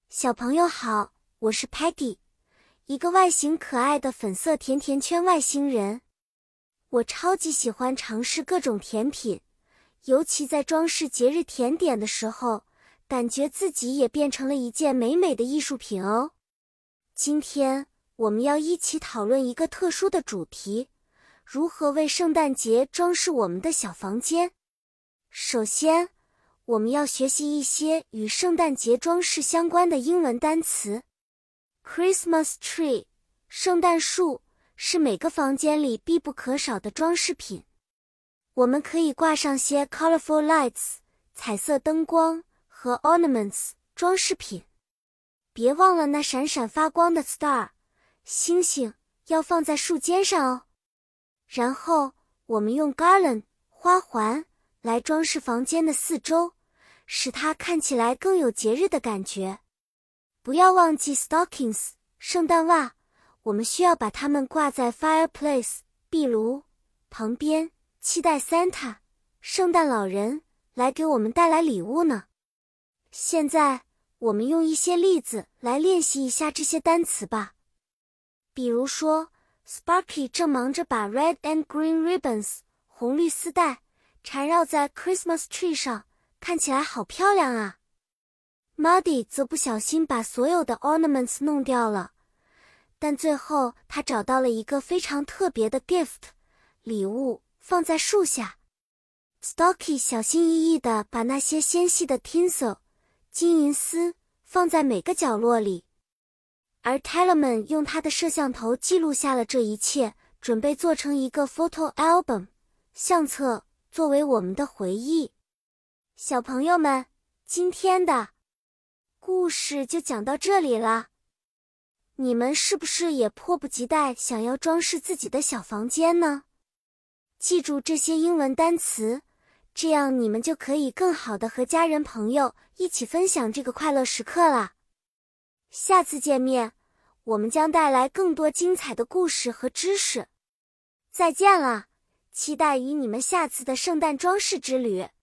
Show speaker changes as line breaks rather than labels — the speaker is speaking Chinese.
小朋友好，我是 Patty， 一个外形可爱的粉色甜甜圈外星人。我超级喜欢尝试各种甜品，尤其在装饰节日甜点的时候，感觉自己也变成了一件美美的艺术品哦。今天我们要一起讨论一个特殊的主题，如何为圣诞节装饰我们的小房间。首先，我们要学习一些与圣诞节装饰相关的英文单词。Christmas tree， 圣诞树，是每个房间里必不可少的装饰品。我们可以挂上些 colorful lights， 彩色灯光和 ornaments， 装饰品。别忘了那闪闪发光的 star， 星星，要放在树尖上哦。然后，我们用 garland， 花环，来装饰房间的四周，使它看起来更有节日的感觉。不要忘记 stockings， 圣诞袜，我们需要把它们挂在 fireplace， 壁炉旁边，期待 Santa， 圣诞老人，来给我们带来礼物呢。现在，我们用一些例子来练习一下这些单词吧。比如说 Sparky 正忙着把 red and green ribbons， 红绿丝带，缠绕在 Christmas tree 上，看起来好漂亮啊。Muddy 则不小心把所有的 ornaments 弄掉了，但最后他找到了一个非常特别的 gift， 礼物，放在树下。Stocky 小心翼翼地把那些纤细的 tinsel， 金银丝，放在每个角落里。而 Tellerman 用他的摄像头记录下了这一切，准备做成一个 photo album， 相册，作为我们的回忆。小朋友们，今天的故事就讲到这里了。你们是不是也迫不及待想要装饰自己的小房间呢？记住这些英文单词，这样你们就可以更好地和家人朋友一起分享这个快乐时刻啦。下次见面，我们将带来更多精彩的故事和知识。再见了，期待与你们下次的圣诞装饰之旅。